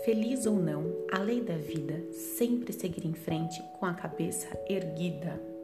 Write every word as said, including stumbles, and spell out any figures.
feliz ou não, a lei da vida sempre seguir em frente com a cabeça erguida.